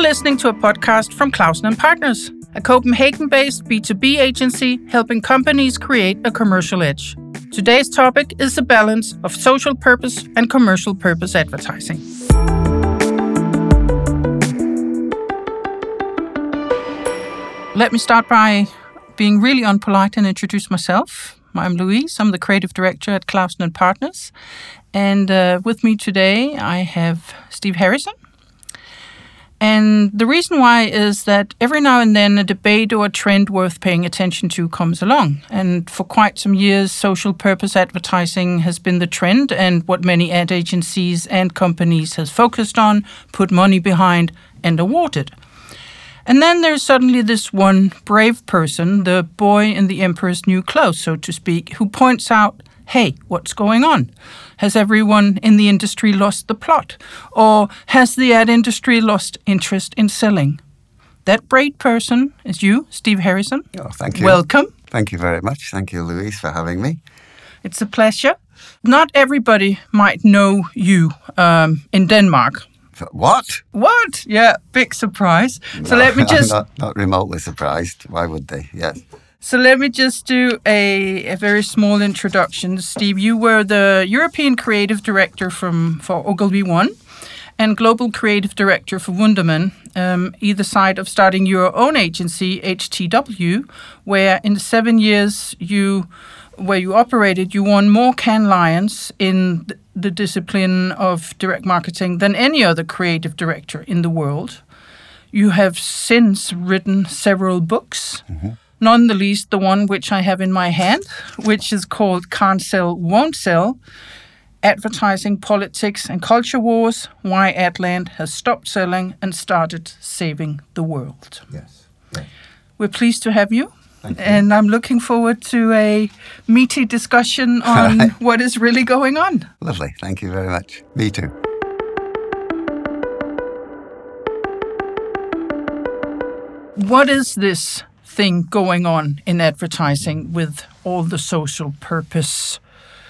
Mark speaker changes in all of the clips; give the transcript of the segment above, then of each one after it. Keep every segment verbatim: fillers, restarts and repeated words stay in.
Speaker 1: listening to a podcast from Clausen and Partners, a Copenhagen-based B two B agency helping companies create a commercial edge. Today's topic is the balance of social purpose and commercial purpose advertising. Let me start by being really unpolite and introduce myself. I'm Louise. I'm the creative director at Clausen and Partners. And uh, with me today, I have Steve Harrison. And the reason why is that every now and then a debate or a trend worth paying attention to comes along. And for quite some years, social purpose advertising has been the trend and what many ad agencies and companies has focused on, put money behind, and awarded. And then there's suddenly this one brave person, the boy in the emperor's new clothes, so to speak, who points out, hey, what's going on? Has everyone in the industry lost the plot? Or has the ad industry lost interest in selling? That brave person is you, Steve Harrison.
Speaker 2: Oh, thank you.
Speaker 1: Welcome.
Speaker 2: Thank you very much. Thank you, Louise, for having me.
Speaker 1: It's a pleasure. Not everybody might know you um, in Denmark.
Speaker 2: What?
Speaker 1: What? Yeah, big surprise.
Speaker 2: No,
Speaker 1: so let me just...
Speaker 2: I'm not, not remotely surprised. Why would they? Yes.
Speaker 1: So let me just do a, a very small introduction. Steve, you were the European Creative Director from for Ogilvy One and Global Creative Director for Wunderman, um, either side of starting your own agency, H T W, where in the seven years you where you operated, you won more Cannes Lions in th- the discipline of direct marketing than any other creative director in the world. You have since written several books. Mm-hmm. None the least the one which I have in my hand, which is called Can't Sell, Won't Sell, Advertising, Politics and Culture Wars, Why Adland Has Stopped Selling and Started Saving the World.
Speaker 2: Yes. yes.
Speaker 1: We're pleased to have you.
Speaker 2: Thank you.
Speaker 1: And I'm looking forward to a meaty discussion on right. what is really going on.
Speaker 2: Lovely. Thank you very much. Me too.
Speaker 1: What is this thing going on in advertising with all the social purpose?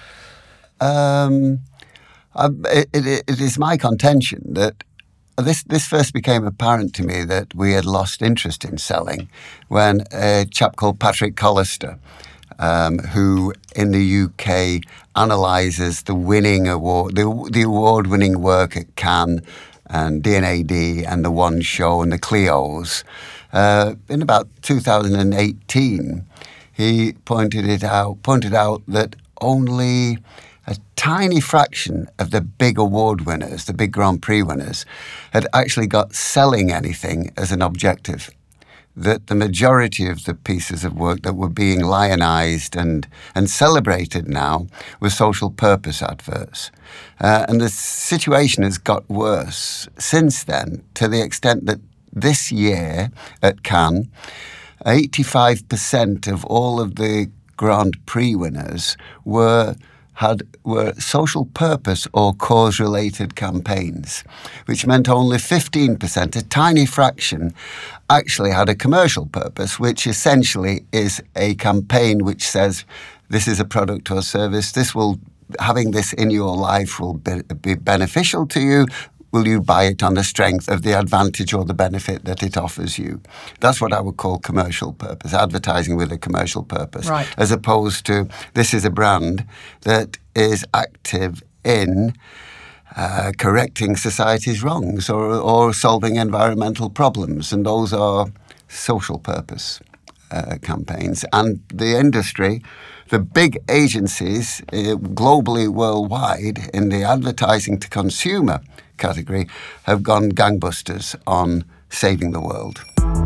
Speaker 2: Um, it, it, it is my contention that this this first became apparent to me that we had lost interest in selling when a chap called Patrick Collister, um, who in the U K analyses the winning award, the, the award-winning work at Cannes and D and A D and The One Show and the Clios. Uh, in about two thousand eighteen, he pointed it out, pointed out that only a tiny fraction of the big award winners, the big Grand Prix winners, had actually got selling anything as an objective. That the majority of the pieces of work that were being lionized and, and celebrated now were social purpose adverts. Uh, and the situation has got worse since then, to the extent that this year at Cannes, eighty-five percent of all of the Grand Prix winners were had were social purpose or cause-related campaigns, which meant only fifteen percent, a tiny fraction, actually had a commercial purpose, which essentially is a campaign which says this is a product or service, this will, having this in your life will be, be beneficial to you. Will you buy it on the strength of the advantage or the benefit that it offers you? That's what I would call commercial purpose, advertising with a commercial purpose,
Speaker 1: right.
Speaker 2: As opposed to this is a brand that is active in uh, correcting society's wrongs or, or solving environmental problems, and those are social purpose uh, campaigns. And the industry, the big agencies uh, globally, worldwide, in the advertising to consumer category have gone gangbusters on saving the world.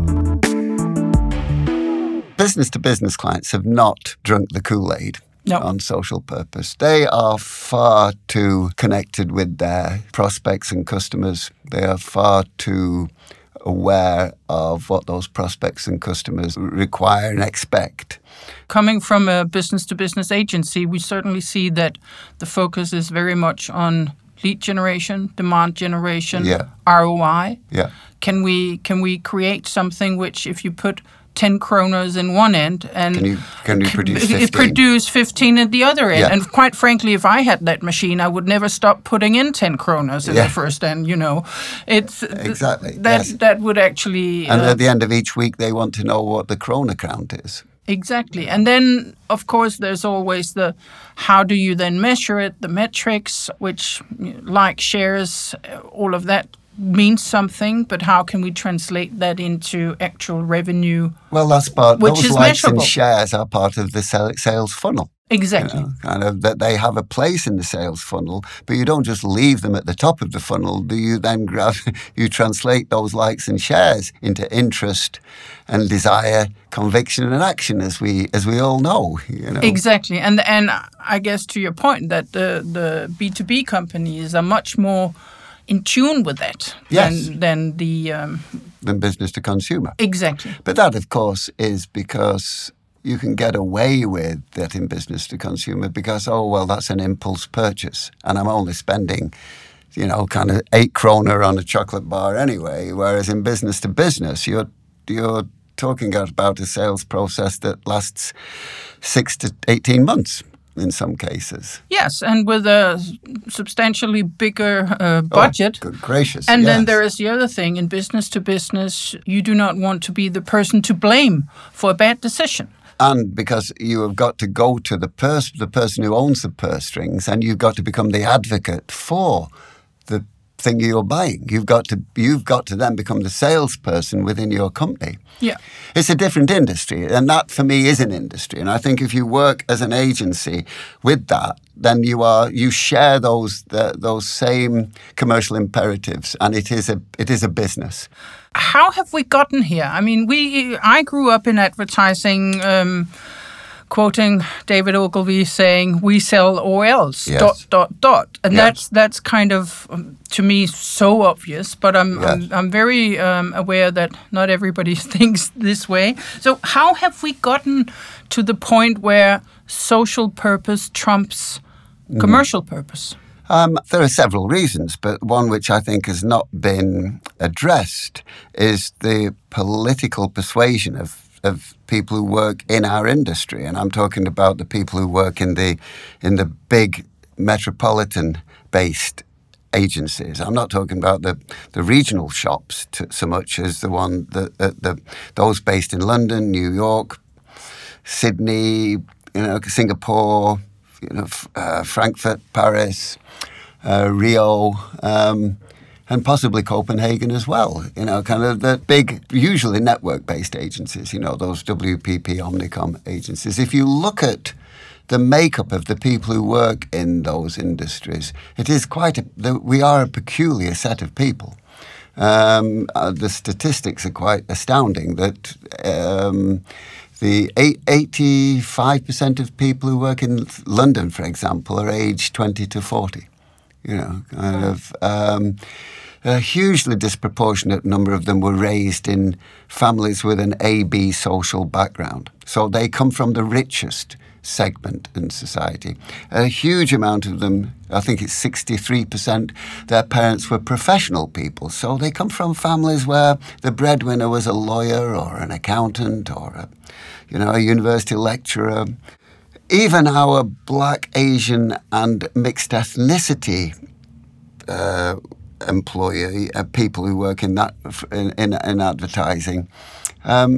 Speaker 2: Business-to-business clients have not drunk the Kool-Aid no. on social purpose. They are far too connected with their prospects and customers. They are far too aware of what those prospects and customers require and expect.
Speaker 1: Coming from a business-to-business agency, we certainly see that the focus is very much on lead generation, demand generation,
Speaker 2: yeah.
Speaker 1: R O I.
Speaker 2: Yeah.
Speaker 1: Can we can we create something which, if you put ten kroners in one end and
Speaker 2: can you can you produce fifteen?
Speaker 1: produce fifteen at the other end.
Speaker 2: Yeah.
Speaker 1: And quite frankly, if I had that machine, I would never stop putting in ten kroners in
Speaker 2: yeah.
Speaker 1: the first end. You know, it's
Speaker 2: exactly
Speaker 1: that
Speaker 2: yes.
Speaker 1: that would actually.
Speaker 2: And
Speaker 1: uh,
Speaker 2: at the end of each week, they want to know what the krona count is.
Speaker 1: Exactly. And then, of course, there's always the how do you then measure it, the metrics, which, like shares, all of that means something, but how can we translate that into actual revenue?
Speaker 2: Well, that's part,
Speaker 1: which
Speaker 2: those
Speaker 1: is
Speaker 2: likes
Speaker 1: measurable.
Speaker 2: and shares are part of the sales funnel.
Speaker 1: Exactly.
Speaker 2: You know, kind of that they have a place in the sales funnel, but you don't just leave them at the top of the funnel. Do you then grab, you translate those likes and shares into interest and desire, conviction and action, as we as we all know. You know?
Speaker 1: Exactly. And and I guess to your point that the, the B two B companies are much more in tune with that
Speaker 2: yes.
Speaker 1: than, than the... Um,
Speaker 2: than business to consumer.
Speaker 1: Exactly.
Speaker 2: But that, of course, is because you can get away with that in business to consumer because, oh, well, that's an impulse purchase and I'm only spending, you know, kind of eight kroner on a chocolate bar anyway, whereas in business to business, you're you're talking about a sales process that lasts six to eighteen months in some cases.
Speaker 1: Yes, and with a substantially bigger uh, budget.
Speaker 2: Oh, good gracious.
Speaker 1: And
Speaker 2: yes.
Speaker 1: then there is the other thing. In business to business, you do not want to be the person to blame for a bad decision.
Speaker 2: And because you have got to go to the purse, the person who owns the purse strings, and you've got to become the advocate for the thing you're buying. You've got to you've got to then become the salesperson within your company.
Speaker 1: Yeah.
Speaker 2: It's a different industry, and that for me is an industry. And I think if you work as an agency with that, then you are you share those the, those same commercial imperatives, and it is a it is a business.
Speaker 1: How have we gotten here? I mean, we I grew up in advertising. Um, Quoting David Ogilvy saying, "We sell O Ls."
Speaker 2: Yes.
Speaker 1: Dot dot dot, and
Speaker 2: yes.
Speaker 1: that's that's kind of um, to me so obvious. But I'm
Speaker 2: yes.
Speaker 1: I'm, I'm very um, aware that not everybody thinks this way. So how have we gotten to the point where social purpose trumps mm. commercial purpose?
Speaker 2: Um, there are several reasons, but one which I think has not been addressed is the political persuasion of of people who work in our industry, and I'm talking about the people who work in the in the big metropolitan-based agencies. I'm not talking about the, the regional shops to, so much as the one that the, the those based in London, New York, Sydney, you know, Singapore, you know, uh, Frankfurt, Paris, uh, Rio. Um, And possibly Copenhagen as well, you know, kind of the big, usually network-based agencies, you know, those W P P, Omnicom agencies. If you look at the makeup of the people who work in those industries, it is quite a, the, we are a peculiar set of people. Um, uh, the statistics are quite astounding that um, the eighty-five percent of people who work in London, for example, are aged twenty to forty. You know, kind of um, a hugely disproportionate number of them were raised in families with an A B social background. So they come from the richest segment in society. A huge amount of them, I think it's sixty-three percent, their parents were professional people. So they come from families where the breadwinner was a lawyer or an accountant or a, you know, a university lecturer. Even our Black, Asian and mixed ethnicity uh, employee, uh, people who work in that in, in, in advertising, um,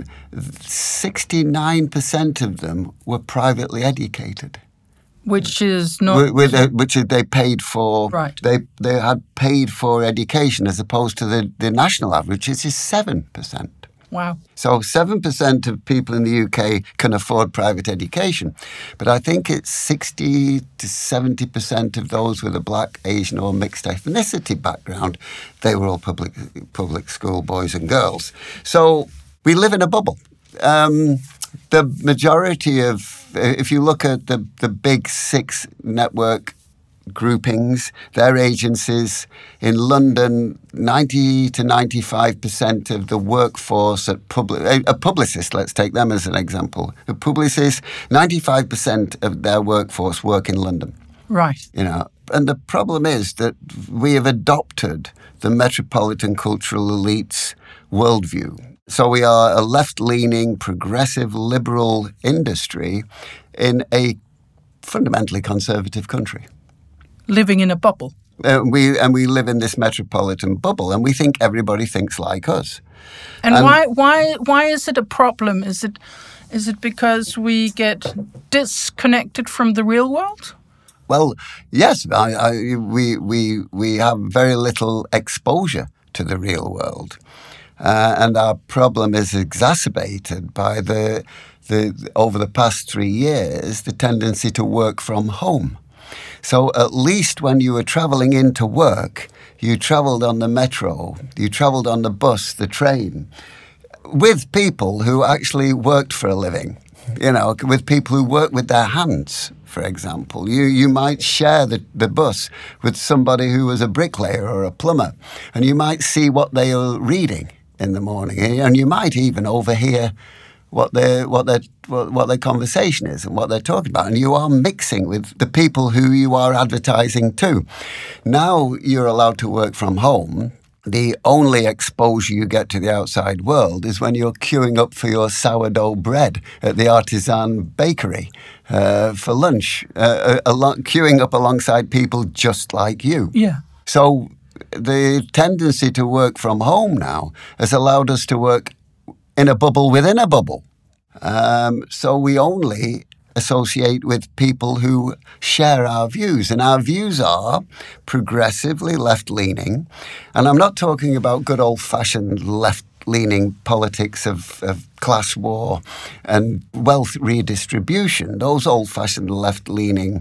Speaker 2: sixty-nine percent of them were privately educated.
Speaker 1: Which is not...
Speaker 2: With, with a, which they paid for...
Speaker 1: Right.
Speaker 2: They they had paid for education as opposed to the, the national average, which is seven percent.
Speaker 1: Wow.
Speaker 2: So seven percent of people in the U K can afford private education. But I think it's sixty to seventy percent of those with a Black, Asian or mixed ethnicity background, they were all public public school boys and girls. So we live in a bubble. Um, the majority of, if you look at the, the big six network groupings, their agencies in London, ninety to ninety-five percent of the workforce at public, a publicist, let's take them as an example. A publicist, ninety-five percent of their workforce work in London.
Speaker 1: Right.
Speaker 2: You know, and the problem is that we have adopted the metropolitan cultural elite's worldview. So we are a left-leaning, progressive, liberal industry in a fundamentally conservative country.
Speaker 1: Living in a bubble.
Speaker 2: Uh, we and we live in this metropolitan bubble, and we think everybody thinks like us.
Speaker 1: And, and why why why is it a problem? Is it is it because we get disconnected from the real world?
Speaker 2: Well, yes, I, I, we we we have very little exposure to the real world, uh, and our problem is exacerbated by the the over the past three years the tendency to work from home. So at least when you were travelling into work, you travelled on the metro, you travelled on the bus, the train, with people who actually worked for a living, you know, with people who work with their hands, for example. You you might share the, the bus with somebody who was a bricklayer or a plumber, and you might see what they are reading in the morning, and you might even overhear what their what their what, what their conversation is and what they're talking about, and you are mixing with the people who you are advertising to. Now you're allowed to work from home. The only exposure you get to the outside world is when you're queuing up for your sourdough bread at the artisan bakery uh, for lunch, uh, along, queuing up alongside people just like you.
Speaker 1: Yeah.
Speaker 2: So the tendency to work from home now has allowed us to work in a bubble within a bubble. Um, so we only associate with people who share our views. And our views are progressively left-leaning. And I'm not talking about good old-fashioned left-leaning politics of, of class war and wealth redistribution. Those old-fashioned left-leaning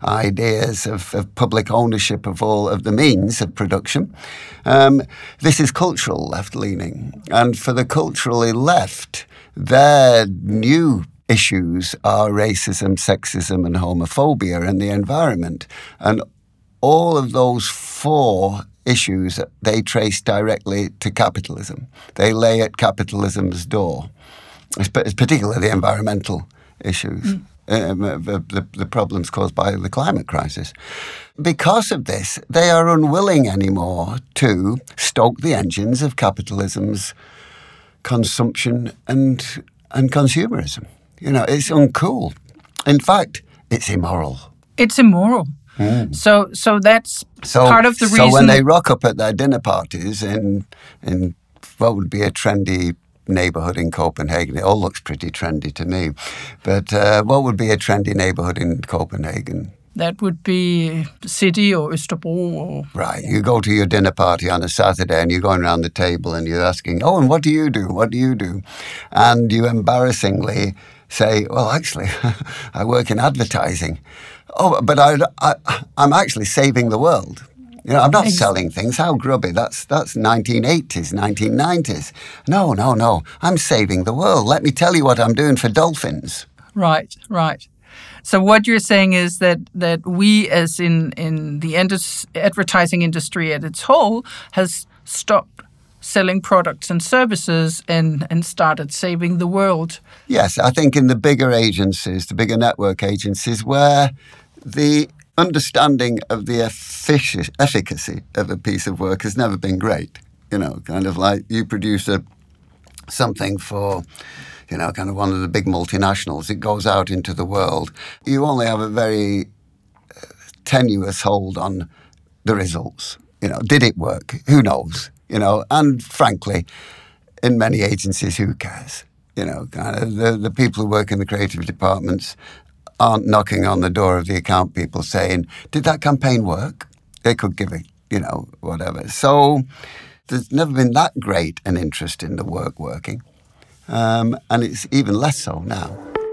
Speaker 2: ideas of, of public ownership of all of the means of production. Um, this is cultural left-leaning. And for the culturally left, their new issues are racism, sexism, and homophobia and the environment. And all of those four issues, they trace directly to capitalism. They lay at capitalism's door. It's particularly the environmental issues, mm. um, the, the, the problems caused by the climate crisis. Because of this, they are unwilling anymore to stoke the engines of capitalism's consumption and and consumerism. You know, it's uncool. In fact, it's immoral.
Speaker 1: It's immoral. Mm. So so that's
Speaker 2: so,
Speaker 1: part of the reason.
Speaker 2: So when they rock up at their dinner parties in, in what would be a trendy neighbourhood in Copenhagen, it all looks pretty trendy to me, but uh, what would be a trendy neighbourhood in Copenhagen?
Speaker 1: That would be City or Østerbro. Or...
Speaker 2: Right. You go to your dinner party on a Saturday and you're going around the table and you're asking, oh, and what do you do? What do you do? And you embarrassingly say, well, actually, I work in advertising. Oh, but I, I, I'm actually saving the world. You know, I'm not Ex- selling things. How grubby. That's that's nineteen eighties, nineteen nineties. No, no, no. I'm saving the world. Let me tell you what I'm doing for dolphins.
Speaker 1: Right, right. So what you're saying is that that we, as in in the indus- advertising industry at its whole, has stopped selling products and services and, and started saving the world.
Speaker 2: Yes, I think in the bigger agencies, the bigger network agencies, where the understanding of the effic- efficacy of a piece of work has never been great. You know, kind of like you produce a something for, you know, kind of one of the big multinationals. It goes out into the world. You only have a very uh, tenuous hold on the results. You know, did it work? Who knows? You know, and frankly, in many agencies, who cares? You know, kind of the, the people who work in the creative departments aren't knocking on the door of the account people saying, did that campaign work? They could give it, you know, whatever. So there's never been that great an interest in the work working. Um, and it's even less so now.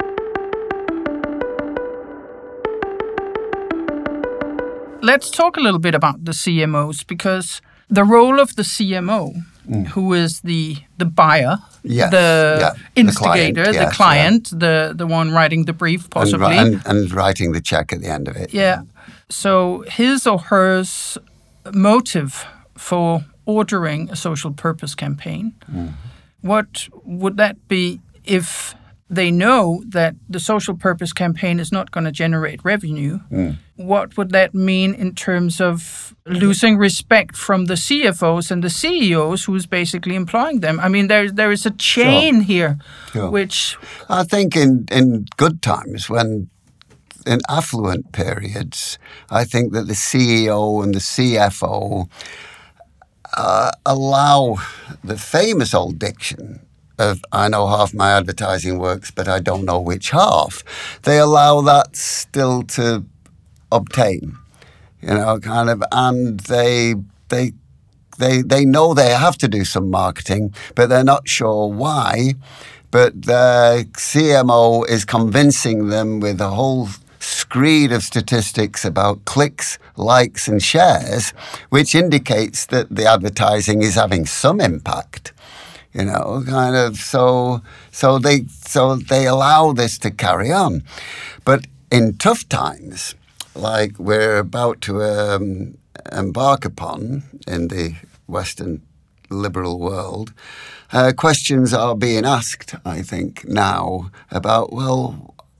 Speaker 1: Let's talk a little bit about the C M Os, because the role of the C M O, mm. who is the the buyer,
Speaker 2: yes,
Speaker 1: the
Speaker 2: yeah,
Speaker 1: instigator, the client,
Speaker 2: the, yes,
Speaker 1: the, client
Speaker 2: yeah.
Speaker 1: the, the one writing the brief, possibly.
Speaker 2: And, and, and writing the check at the end of it.
Speaker 1: Yeah. So his or her motive for ordering a social purpose campaign, mm. what would that be if they know that the social purpose campaign is not going to generate revenue, mm. what would that mean in terms of losing respect from the C F Os and the C E Os who's basically employing them? I mean, there, there is a chain sure. here, sure. which...
Speaker 2: I think in, in good times, when in affluent periods, I think that the C E O and the C F O uh, allow the famous old diction of, I know half my advertising works, but I don't know which half. They allow that still to obtain, you know, kind of, and they they they they know they have to do some marketing, but they're not sure why. But the C M O is convincing them with a whole screed of statistics about clicks, likes, and shares, which indicates that the advertising is having some impact. You know, kind of, so so they so they allow this to carry on. But in tough times, like we're about to um, embark upon in the Western liberal world, uh, questions are being asked, I think, now about, well,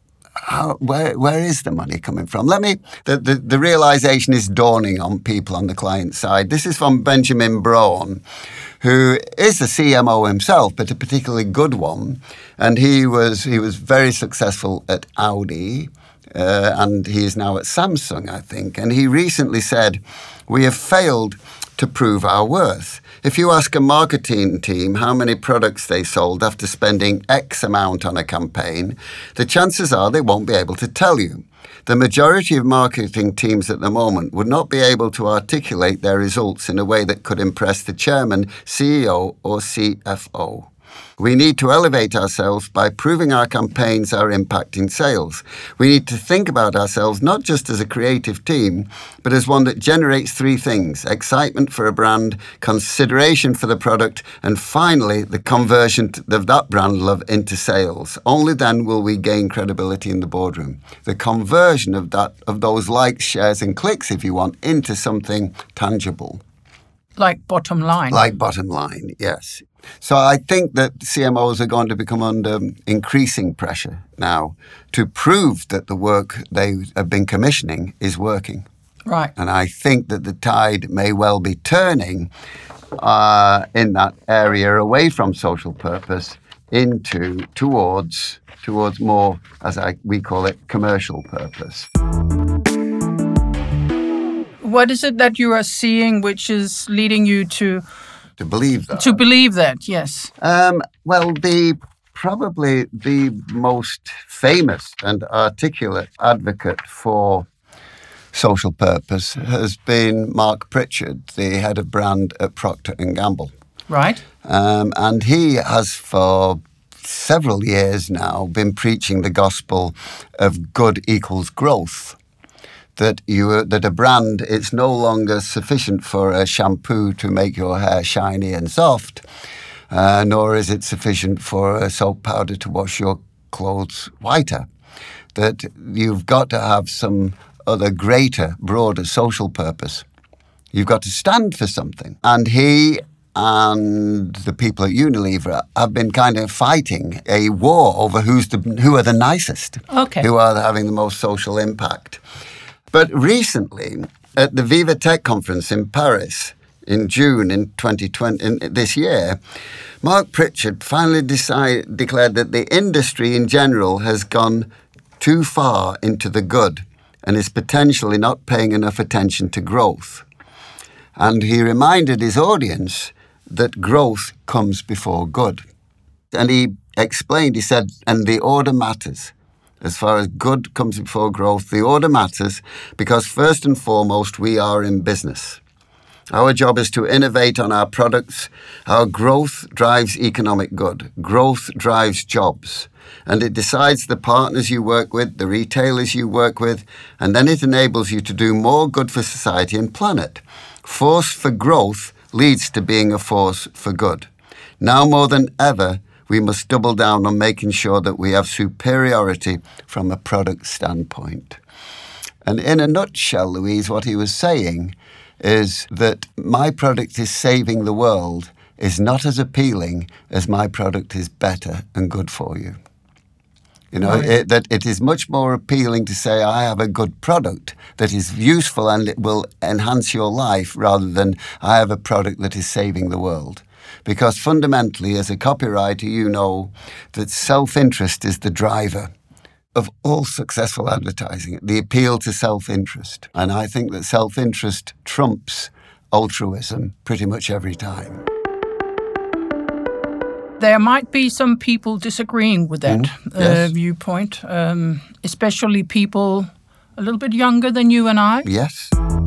Speaker 2: How, where where is the money coming from? Let me, the, the, the realization is dawning on people on the client side. This is from Benjamin Braun, who is a C M O himself, but a particularly good one. And he was he was very successful at Audi, uh, and he is now at Samsung, I think. And he recently said, "We have failed to prove our worth. If you ask a marketing team how many products they sold after spending X amount on a campaign, the chances are they won't be able to tell you. The majority of marketing teams at the moment would not be able to articulate their results in a way that could impress the chairman, C E O, or C F O. We need to elevate ourselves by proving our campaigns are impacting sales. We need to think about ourselves not just as a creative team, but as one that generates three things: excitement for a brand, consideration for the product, and finally, the conversion of that brand love into sales. Only then will we gain credibility in the boardroom. The conversion of that, of those likes, shares, and clicks, if you want, into something tangible."
Speaker 1: Like bottom line.
Speaker 2: Like bottom line, yes. So I think that C M Os are going to become under increasing pressure now to prove that the work they have been commissioning is working.
Speaker 1: Right.
Speaker 2: And I think that the tide may well be turning uh, in that area away from social purpose into towards towards more, as I we call it, commercial purpose.
Speaker 1: What is it that you are seeing which is leading you to...
Speaker 2: To believe that.
Speaker 1: To believe that, yes.
Speaker 2: Um, well, the probably the most famous and articulate advocate for social purpose has been Mark Pritchard, the head of brand at Procter and Gamble.
Speaker 1: Right.
Speaker 2: Um, and he has for several years now been preaching the gospel of good equals growth. That you that a brand, it's no longer sufficient for a shampoo to make your hair shiny and soft, uh, nor is it sufficient for a soap powder to wash your clothes whiter. That you've got to have some other greater, broader social purpose. You've got to stand for something. And he and the people at Unilever have been kind of fighting a war over who's the who are the nicest,
Speaker 1: okay.
Speaker 2: who are having the most social impact. But recently, at the Viva Tech conference in Paris in June in twenty twenty, in this year, Mark Pritchard finally decide, declared that the industry in general has gone too far into the good and is potentially not paying enough attention to growth. And he reminded his audience that growth comes before good. And he explained, he said, and the order matters. As far as good comes before growth, the order matters because first and foremost, we are in business. Our job is to innovate on our products. Our growth drives economic good. Growth drives jobs. And it decides the partners you work with, the retailers you work with, and then it enables you to do more good for society and planet. Force for growth leads to being a force for good. Now more than ever, we must double down on making sure that we have superiority from a product standpoint. And in a nutshell, Louise, what he was saying is that my product is saving the world is not as appealing as my product is better and good for you. You know,
Speaker 1: Right.
Speaker 2: it, that it is much more appealing to say, I have a good product that is useful and it will enhance your life, rather than I have a product that is saving the world. Because fundamentally, as a copywriter, you know that self-interest is the driver of all successful advertising, the appeal to self-interest. And I think that self-interest trumps altruism pretty much every time.
Speaker 1: There might be some people disagreeing with that
Speaker 2: Mm,
Speaker 1: uh,
Speaker 2: yes.
Speaker 1: viewpoint, um, especially people a little bit younger than you and I.
Speaker 2: Yes.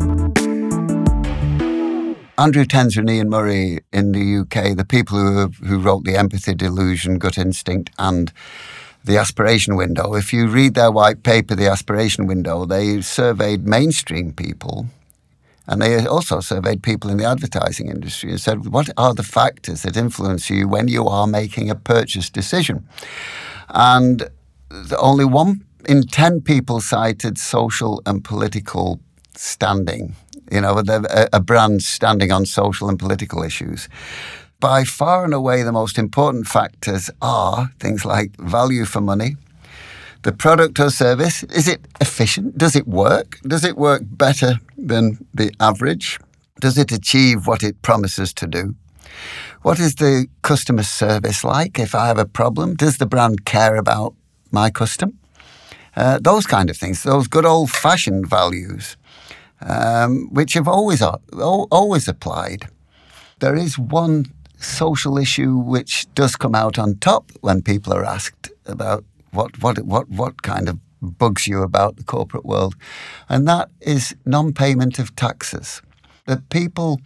Speaker 2: Andrew Tenzar and Ian Murray in the U K, the people who who wrote The Empathy Delusion, Gut Instinct and The Aspiration Window, if you read their white paper, The Aspiration Window, they surveyed mainstream people, and they also surveyed people in the advertising industry and said, what are the factors that influence you when you are making a purchase decision? And only one in ten people cited social and political standing, you know, a, a brand standing on social and political issues. By far and away, the most important factors are things like value for money, the product or service. Is it efficient? Does it work? Does it work better than the average? Does it achieve what it promises to do? What is the customer service like? If I have a problem, does the brand care about my custom? Uh, those kind of things, those good old-fashioned values, um, which have always always applied. There is one social issue which does come out on top when people are asked about what what what what kind of bugs you about the corporate world, and that is non-payment of taxes. That people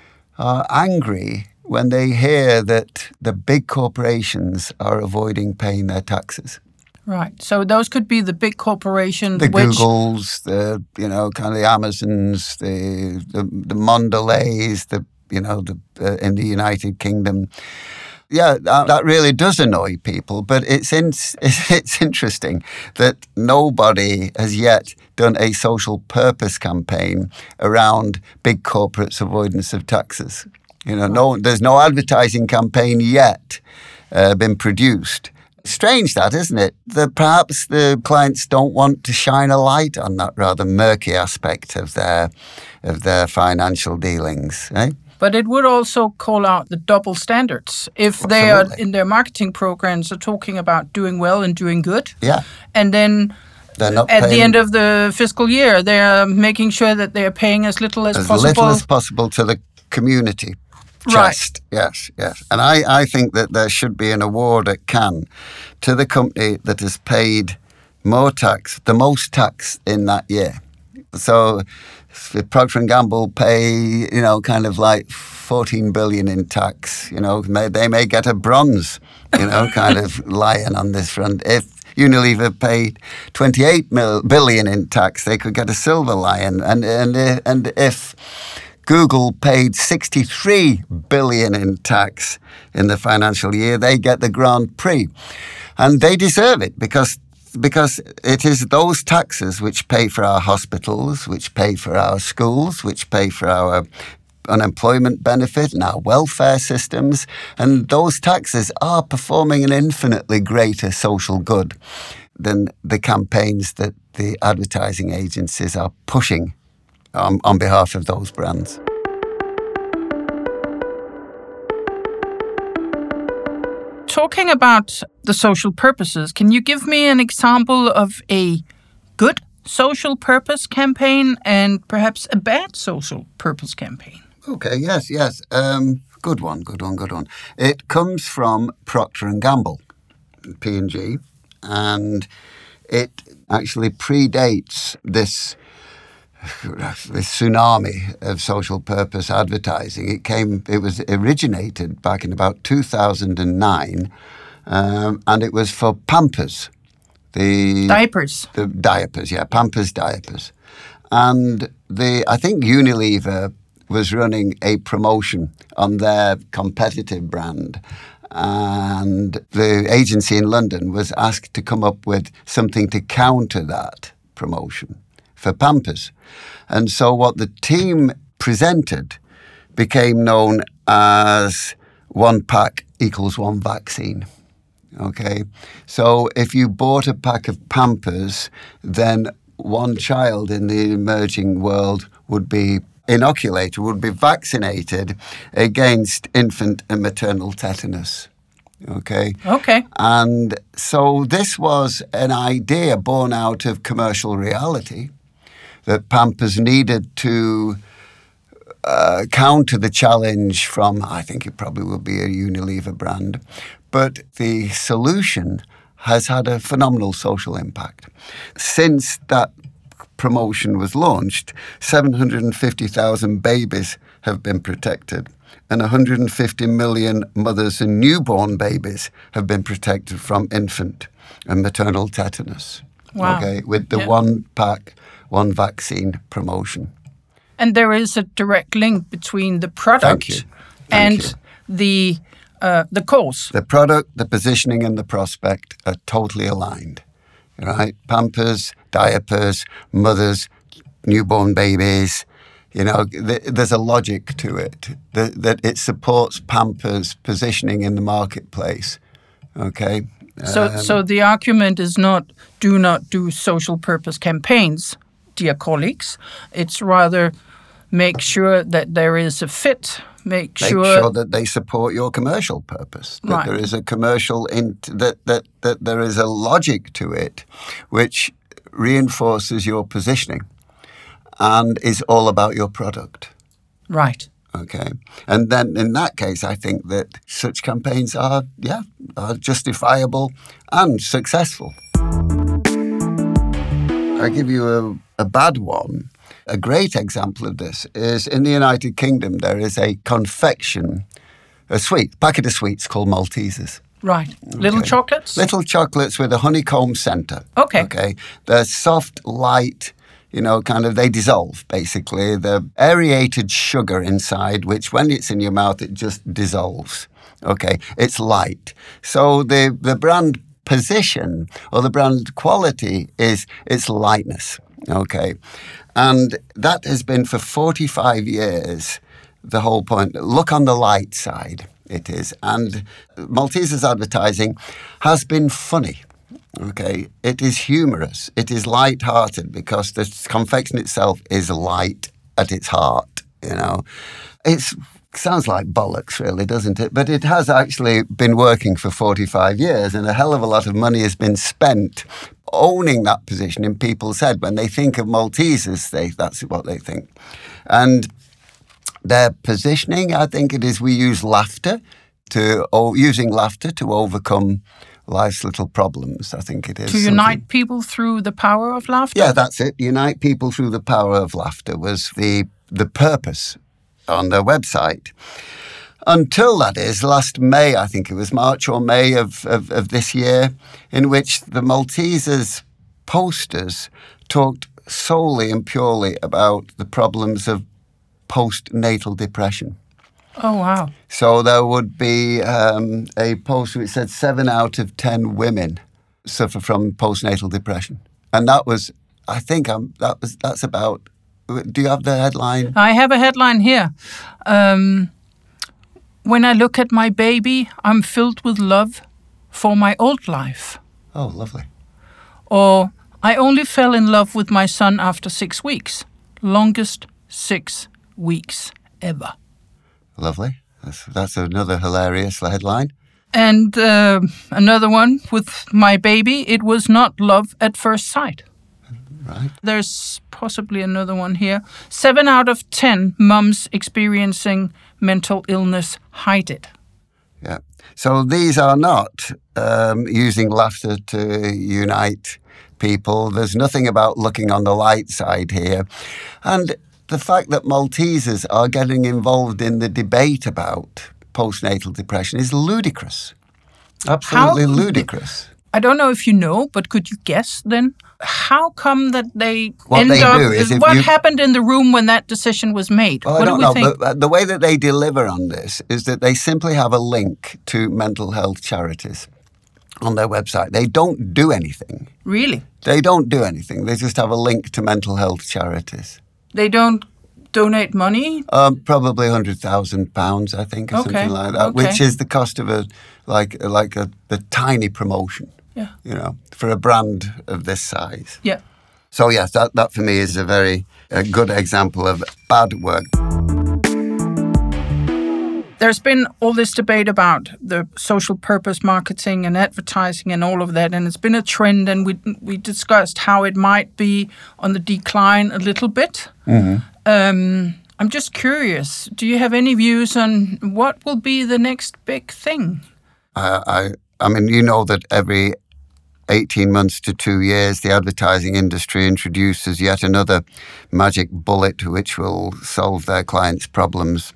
Speaker 2: are angry when they hear that the big corporations are avoiding paying their taxes.
Speaker 1: Right. So those could be the big corporations,
Speaker 2: The
Speaker 1: which
Speaker 2: Googles, the you know kind of the Amazons, the the, the Mondeleys, the you know the uh, in the United Kingdom. Yeah, that, that really does annoy people, but it's in, it's interesting that nobody has yet done a social purpose campaign around big corporates' avoidance of taxes. You know, no, there's no advertising campaign yet uh, been produced. Strange that, isn't it? That perhaps the clients don't want to shine a light on that rather murky aspect of their of their financial dealings, eh?
Speaker 1: But it would also call out the double standards. If they are in their marketing programs are talking about doing well and doing good,
Speaker 2: Yeah.
Speaker 1: and then
Speaker 2: They're not
Speaker 1: at the
Speaker 2: paying
Speaker 1: end of the fiscal year, they're making sure that they're paying as little as,
Speaker 2: as
Speaker 1: possible.
Speaker 2: little as possible to the community chest.
Speaker 1: Right.
Speaker 2: Yes, yes. And I, I think that there should be an award at Cannes to the company that has paid more tax, the most tax in that year. So if Procter and Gamble pay, you know, kind of like fourteen billion in tax, you know, may, they may get a bronze, you know, kind of lion on this front. If Unilever paid twenty-eight billion in tax, they could get a silver lion. And and and if Google paid sixty-three billion in tax in the financial year, they get the Grand Prix. And they deserve it because because it is those taxes which pay for our hospitals, which pay for our schools, which pay for our unemployment benefit and our welfare systems. And those taxes are performing an infinitely greater social good than the campaigns that the advertising agencies are pushing on, on behalf of those brands.
Speaker 1: Talking about the social purposes, can you give me an example of a good social purpose campaign and perhaps a bad social purpose campaign?
Speaker 2: Okay, yes, yes. Um, good one, good one, good one. It comes from Procter and Gamble, P and G, and it actually predates this this tsunami of social purpose advertising. It came, it was originated back in about two thousand nine, um, and it was for Pampers. The
Speaker 1: Diapers.
Speaker 2: The diapers, yeah, Pampers diapers. And the I think Unilever was running a promotion on their competitive brand, and the agency in London was asked to come up with something to counter that promotion for Pampers. And so what the team presented became known as one pack equals one vaccine. Okay, so if you bought a pack of Pampers, then one child in the emerging world would be inoculated, would be vaccinated against infant and maternal tetanus. Okay.
Speaker 1: Okay.
Speaker 2: And so this was an idea born out of commercial reality that Pampers needed to uh, counter the challenge from, I think it probably will be a Unilever brand, but the solution has had a phenomenal social impact. Since that promotion was launched, seven hundred fifty thousand babies have been protected, and one hundred fifty million mothers and newborn babies have been protected from infant and maternal tetanus.
Speaker 1: Wow.
Speaker 2: Okay, with the
Speaker 1: Yeah.
Speaker 2: one pack, one vaccine promotion.
Speaker 1: And there is a direct link between the product
Speaker 2: Thank you. Thank
Speaker 1: and
Speaker 2: you.
Speaker 1: the uh, the cause.
Speaker 2: The product, the positioning, and the prospect are totally aligned. Right? Pampers, diapers, mothers, newborn babies. You know, th- there's a logic to it that, that it supports Pampers' positioning in the marketplace. Okay.
Speaker 1: So,
Speaker 2: Um,
Speaker 1: so the argument is not do not do social purpose campaigns, dear colleagues. It's rather make sure that there is a fit. Make,
Speaker 2: Make
Speaker 1: sure,
Speaker 2: sure that they support your commercial purpose. That
Speaker 1: Right.
Speaker 2: there is a commercial in that that that there is a logic to it, which reinforces your positioning, and is all about your product.
Speaker 1: right.
Speaker 2: Okay, and then in that case, I think that such campaigns are yeah are justifiable and successful. I give you a, a bad one. A great example of this is in the United Kingdom. There is a confection, a sweet packet of sweets called Maltesers.
Speaker 1: Right. Little
Speaker 2: Okay.
Speaker 1: chocolates?
Speaker 2: Little chocolates with a honeycomb centre.
Speaker 1: Okay.
Speaker 2: Okay. They're soft, light, you know, kind of, they dissolve, basically. The aerated sugar inside, which when it's in your mouth, it just dissolves. Okay. It's light. So the, the brand position or the brand quality is its lightness. Okay. And that has been for forty-five years the whole point. Look on the light side, it is. And Maltesers advertising has been funny. Okay, it is humorous. It is light-hearted because the confection itself is light at its heart. You know, it sounds like bollocks, really, doesn't it? But it has actually been working for forty-five years, and a hell of a lot of money has been spent owning that position in people's head. When they think of Maltesers, they that's what they think, and their positioning, I think it is, we use laughter to, or using laughter to overcome life's little problems, I think it is.
Speaker 1: To unite people through the power of laughter?
Speaker 2: Yeah, that's it. Unite people through the power of laughter was the the purpose on their website. Until, that is, last May, I think it was March or May of, of, of this year, in which the Maltesers posters talked solely and purely about the problems of postnatal depression.
Speaker 1: Oh, wow.
Speaker 2: So there would be um, a post which said seven out of ten women suffer from postnatal depression, and that was, I think, um, that was that's about. Do you have the headline?
Speaker 1: I have a headline here. Um, when I look at my baby, I'm filled with love for my old life.
Speaker 2: Oh, lovely.
Speaker 1: Or I only fell in love with my son after six weeks. Longest six weeks ever.
Speaker 2: Lovely. That's that's another hilarious headline.
Speaker 1: And uh, another one with my baby, it was not love at first sight.
Speaker 2: Right.
Speaker 1: There's possibly another one here. Seven out of ten mums experiencing mental illness hide it.
Speaker 2: Yeah. So these are not um, using laughter to unite people. There's nothing about looking on the light side here. And the fact that Maltesers are getting involved in the debate about postnatal depression is ludicrous. Absolutely
Speaker 1: How-
Speaker 2: ludicrous.
Speaker 1: I don't know if you know, but could you guess then? How come that they
Speaker 2: What
Speaker 1: end
Speaker 2: they
Speaker 1: up...
Speaker 2: do is if
Speaker 1: what
Speaker 2: you-
Speaker 1: happened in the room when that decision was made?
Speaker 2: Well,
Speaker 1: what
Speaker 2: I don't
Speaker 1: do we
Speaker 2: know,
Speaker 1: think?
Speaker 2: but the way that they deliver on this is that they simply have a link to mental health charities on their website. They don't do anything.
Speaker 1: Really?
Speaker 2: They don't do anything. They just have a link to mental health charities.
Speaker 1: They don't donate money?
Speaker 2: Um, probably one hundred thousand pounds, I think, or
Speaker 1: Okay.
Speaker 2: something like that,
Speaker 1: Okay.
Speaker 2: which is the cost of a like like a, a tiny promotion.
Speaker 1: Yeah.
Speaker 2: You know, for a brand of this size.
Speaker 1: Yeah.
Speaker 2: So yes, that that for me is a very a good example of bad work.
Speaker 1: There's been all this debate about the social purpose marketing and advertising and all of that, and it's been a trend, and we we discussed how it might be on the decline a little bit. Mm-hmm. Um, I'm just curious, do you have any views on what will be the next big thing?
Speaker 2: I, I, I mean, you know that every eighteen months to two years, the advertising industry introduces yet another magic bullet which will solve their clients' problems.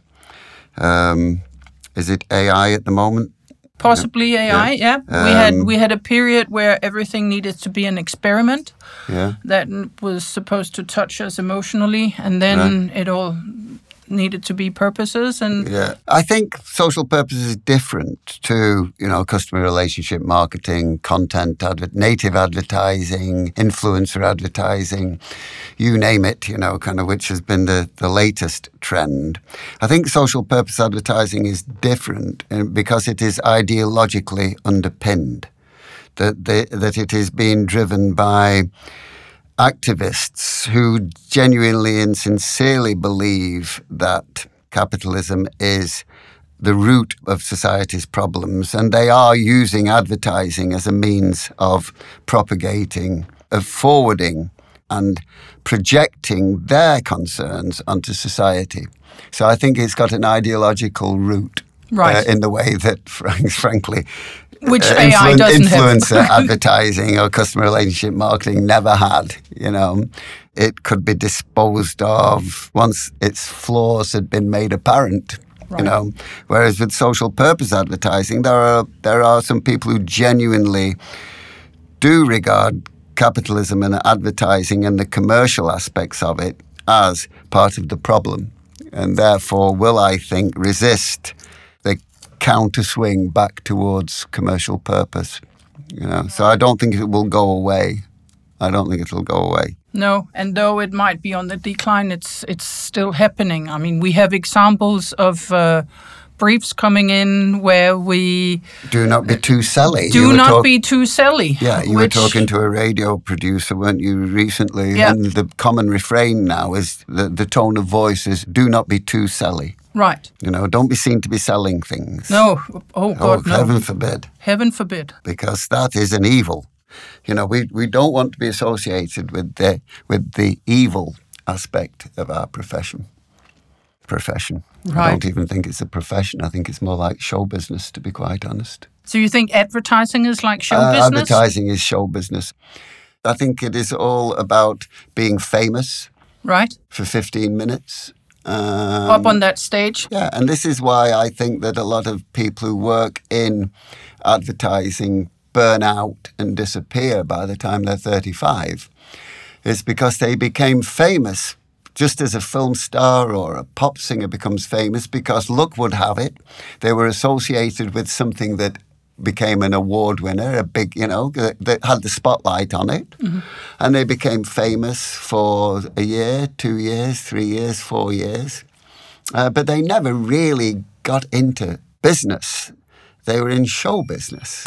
Speaker 2: Um, is it A I at the moment?
Speaker 1: Possibly A I, yeah. yeah.
Speaker 2: Um,
Speaker 1: we had we had a period where everything needed to be an experiment
Speaker 2: Yeah.
Speaker 1: that was supposed to touch us emotionally, and then
Speaker 2: Right.
Speaker 1: it all needed to be purposes. And
Speaker 2: Yeah, I think social purpose is different to, you know, customer relationship marketing, content, adver- native advertising, influencer advertising, you name it, you know, kind of which has been the, the latest trend. I think social purpose advertising is different because it is ideologically underpinned, that, the, that it is being driven by activists who genuinely and sincerely believe that capitalism is the root of society's problems, and they are using advertising as a means of propagating, of forwarding and projecting their concerns onto society. So I think it's got an ideological root,
Speaker 1: right.
Speaker 2: uh, in the way that, frankly,
Speaker 1: Which
Speaker 2: Uh,
Speaker 1: A I
Speaker 2: influ-
Speaker 1: doesn't
Speaker 2: influencer
Speaker 1: have.
Speaker 2: advertising or customer relationship marketing never had. You know, it could be disposed of once its flaws had been made apparent.
Speaker 1: Right.
Speaker 2: You know, whereas with social purpose advertising, there are there are some people who genuinely do regard capitalism and advertising and the commercial aspects of it as part of the problem, and therefore will, I think, resist the counter swing back towards commercial purpose. You know, so I don't think it will go away. I don't think it will go away.
Speaker 1: No, and though it might be on the decline, it's it's still happening. I mean, we have examples of uh, briefs coming in where we
Speaker 2: Do not be too selly.
Speaker 1: do
Speaker 2: You were
Speaker 1: not
Speaker 2: talk-
Speaker 1: be too selly.
Speaker 2: Yeah, you
Speaker 1: which,
Speaker 2: were talking to a radio producer, weren't you, recently?
Speaker 1: Yeah.
Speaker 2: And the common refrain now is the, the tone of voice is do not be too selly.
Speaker 1: Right.
Speaker 2: You know, don't be seen to be selling things.
Speaker 1: No. Oh, God,
Speaker 2: Oh,
Speaker 1: no.
Speaker 2: heaven forbid.
Speaker 1: Heaven forbid.
Speaker 2: Because that is an evil. You know, we, we don't want to be associated with the with the evil aspect of our profession. Profession. I
Speaker 1: Right.
Speaker 2: don't even think it's a profession. I think it's more like show business, to be quite honest.
Speaker 1: So you think advertising is like show
Speaker 2: Uh,
Speaker 1: business?
Speaker 2: advertising is show business. I think it is all about being famous
Speaker 1: Right.
Speaker 2: for fifteen minutes. Um,
Speaker 1: Up on that stage.
Speaker 2: Yeah, and this is why I think that a lot of people who work in advertising burn out and disappear by the time they're thirty-five. It's because they became famous just as a film star or a pop singer becomes famous because luck would have it. They were associated with something that became an award winner, a big, you know, that, that had the spotlight on it. Mm-hmm. And they became famous for a year, two years, three years, four years. Uh, but they never really got into business. They were in show business.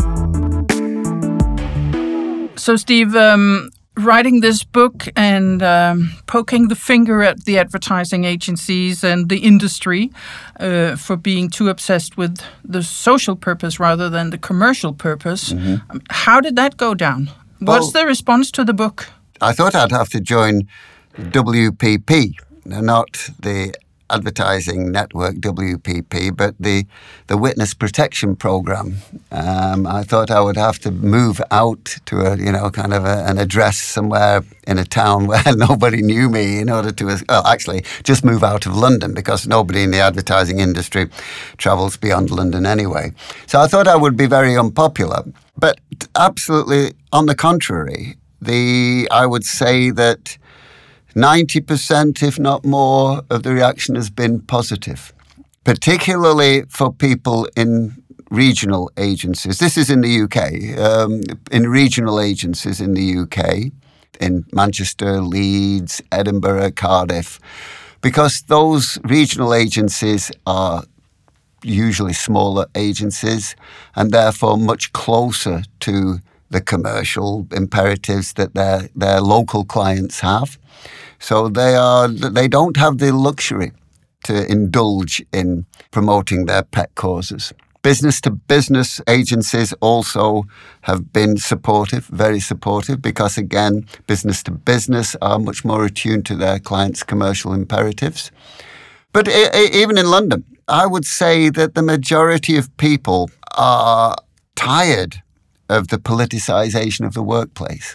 Speaker 1: So, Steve, um, writing this book and um, poking the finger at the advertising agencies and the industry uh, for being too obsessed with the social purpose rather than the commercial purpose, mm-hmm. um, how did that go down? What's
Speaker 2: well,
Speaker 1: the response to the book?
Speaker 2: I thought I'd have to join W P P, not the advertising network W P P, but the the Witness Protection Program. Um, I thought I would have to move out to a, you know, kind of a, an address somewhere in a town where nobody knew me in order to, well, actually just move out of London because nobody in the advertising industry travels beyond London anyway. So I thought I would be very unpopular, but absolutely on the contrary, the I would say that ninety percent, if not more, of the reaction has been positive, particularly for people in regional agencies. This is in the U K, um, in regional agencies in the U K, in Manchester, Leeds, Edinburgh, Cardiff. because those regional agencies are usually smaller agencies and therefore much closer to the commercial imperatives that their their local clients have. So they are they don't have the luxury to indulge in promoting their pet causes. Business-to-business agencies also have been supportive, very supportive, because again, business-to-business are much more attuned to their clients' commercial imperatives. But I- I- even in London, I would say that the majority of people are tired of the politicization of the workplace.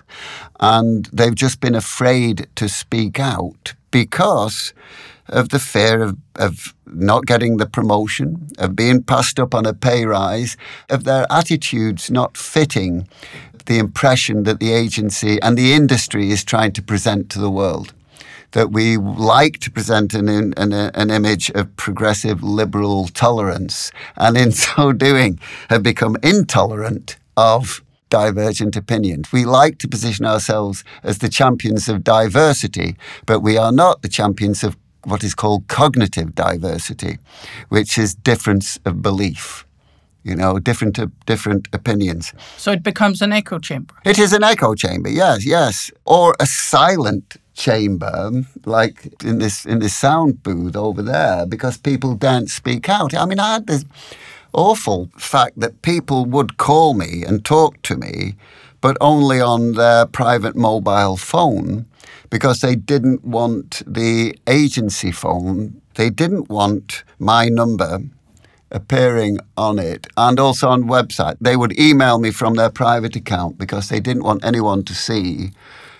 Speaker 2: And they've just been afraid to speak out because of the fear of, of not getting the promotion, of being passed up on a pay rise, of their attitudes not fitting the impression that the agency and the industry is trying to present to the world. That we like to present an, an, an image of progressive liberal tolerance, and in so doing have become intolerant of divergent opinions. We like to position ourselves as the champions of diversity, but we are not the champions of what is called cognitive diversity, which is difference of belief. You know, different different opinions.
Speaker 1: So it becomes an echo chamber.
Speaker 2: It is an echo chamber, yes, yes. Or a silent chamber, like in this in this sound booth over there, because people don't speak out. I mean, I had this awful fact that people would call me and talk to me, but only on their private mobile phone, because they didn't want the agency phone. They didn't want my number appearing on it, and also on website. They would email me from their private account because they didn't want anyone to see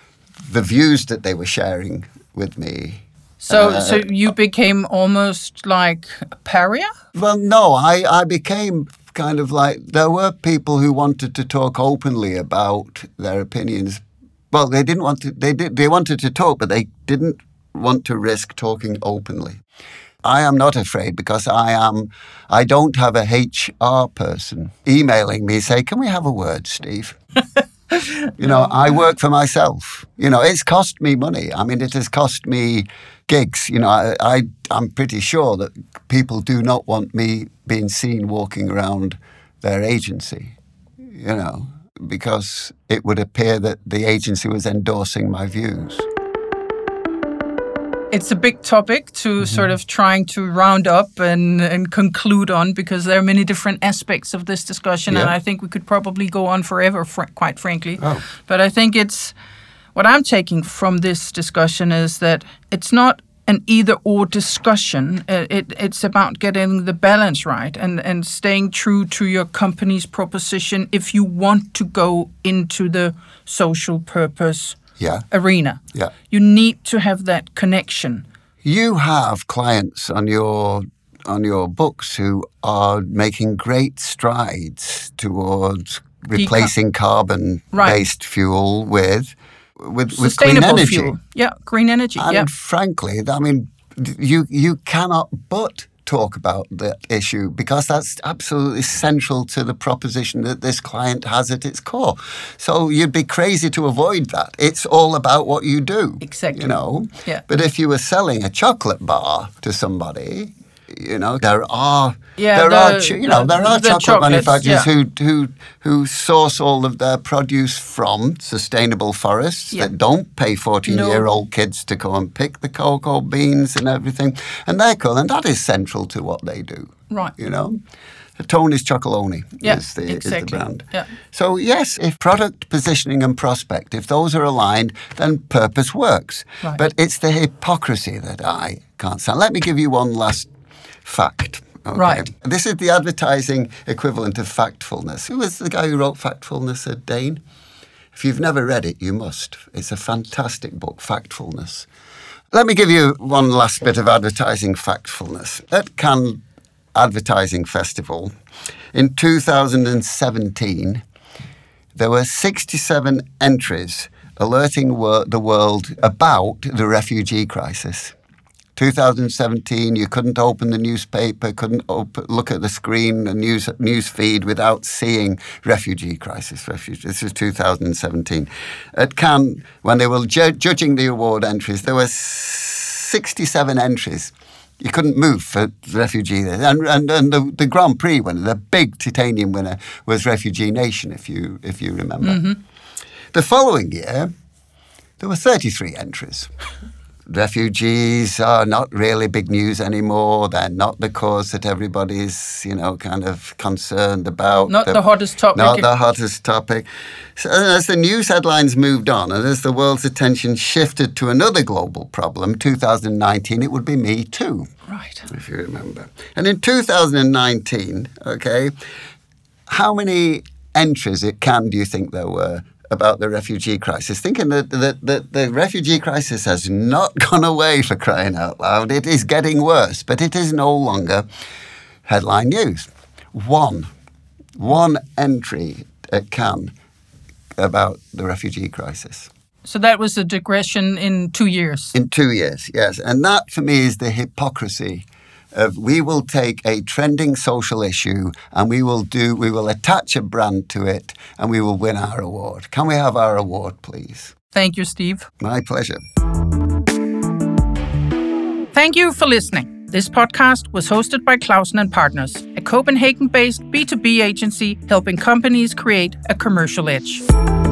Speaker 2: the views that they were sharing with me.
Speaker 1: So
Speaker 2: uh,
Speaker 1: so you became almost like a pariah?
Speaker 2: Well, no, I, I became kind of like, there were people who wanted to talk openly about their opinions. Well, they didn't want to, they did, they wanted to talk, but they didn't want to risk talking openly. I am not afraid because I am, I don't have a H R person emailing me, say, can we have a word, Steve? You know, no. I work for myself. You know, it's cost me money. I mean, it has cost me gigs. You know, I, I, I'm pretty sure that people do not want me being seen walking around their agency, you know, because it would appear that the agency was endorsing my views.
Speaker 1: It's a big topic to mm-hmm. sort of trying to round up and, and conclude on, because there are many different aspects of this discussion, yeah. and I think we could probably go on forever, fr- quite frankly.
Speaker 2: Oh.
Speaker 1: But I think it's, what I'm taking from this discussion is that it's not an either-or discussion. It, it, it's about getting the balance right and, and staying true to your company's proposition if you want to go into the social purpose
Speaker 2: Yeah.
Speaker 1: arena.
Speaker 2: Yeah.
Speaker 1: You need to have that connection.
Speaker 2: You have clients on your on your books who are making great strides towards replacing Deca- carbon-based right. fuel with with, with clean energy.
Speaker 1: Fuel. Yeah, green energy.
Speaker 2: And
Speaker 1: yeah.
Speaker 2: frankly, I mean, you you cannot but talk about that issue, because that's absolutely central to the proposition that this client has at its core. So you'd be crazy to avoid that. It's all about what you do.
Speaker 1: Exactly.
Speaker 2: You know?
Speaker 1: Yeah.
Speaker 2: But if you were selling a chocolate bar to somebody, you know, there are
Speaker 1: yeah,
Speaker 2: there
Speaker 1: the,
Speaker 2: are you know
Speaker 1: the,
Speaker 2: there are
Speaker 1: the
Speaker 2: chocolate manufacturers
Speaker 1: yeah.
Speaker 2: who who who source all of their produce from sustainable forests yeah. that don't pay fourteen-year-old no. kids to go and pick the cocoa beans and everything, and they're cool, and that is central to what they do.
Speaker 1: Right.
Speaker 2: You know. Tony's Chocolonely
Speaker 1: yeah,
Speaker 2: is, the,
Speaker 1: exactly.
Speaker 2: is the brand.
Speaker 1: Yeah.
Speaker 2: So yes, if product positioning and prospect, if those are aligned, then purpose works.
Speaker 1: Right.
Speaker 2: But it's the hypocrisy that I can't stand. Let me give you one last fact. Okay.
Speaker 1: Right.
Speaker 2: This is the advertising equivalent of Factfulness. Who was the guy who wrote Factfulness? A Dane? If you've never read it, you must. It's a fantastic book, Factfulness. Let me give you one last bit of advertising factfulness. At Cannes Advertising Festival in two thousand seventeen, there were sixty-seven entries alerting wor- the world about the refugee crisis. two thousand seventeen, you couldn't open the newspaper, couldn't open, look at the screen, the news news feed without seeing refugee crisis. Refugee. This is two thousand seventeen. At Cannes, when they were ju- judging the award entries, there were sixty-seven entries. You couldn't move for refugee. And, and, and the, the Grand Prix winner, the big titanium winner, was Refugee Nation, if you, if you remember. Mm-hmm. The following year, there were thirty-three entries. Refugees are not really big news anymore. They're not the cause that everybody's, you know, kind of concerned about.
Speaker 1: Not the, the hottest topic.
Speaker 2: Not the hottest topic. So as the news headlines moved on and as the world's attention shifted to another global problem, two thousand nineteen, it would be Me Too.
Speaker 1: Right.
Speaker 2: If you remember. And in two thousand nineteen, okay, how many entries at Cannes do you think there were about the refugee crisis, thinking that, that, that the refugee crisis has not gone away, for crying out loud? It is getting worse, but it is no longer headline news. One, one entry at Cannes about the refugee crisis.
Speaker 1: So that was a digression in two years?
Speaker 2: In two years, yes. And that, for me, is the hypocrisy of we will take a trending social issue and we will do, we will attach a brand to it and we will win our award. Can we have our award, please?
Speaker 1: Thank you, Steve.
Speaker 2: My pleasure.
Speaker 1: Thank you for listening. This podcast was hosted by Clausen and Partners, a Copenhagen-based B two B agency helping companies create a commercial edge.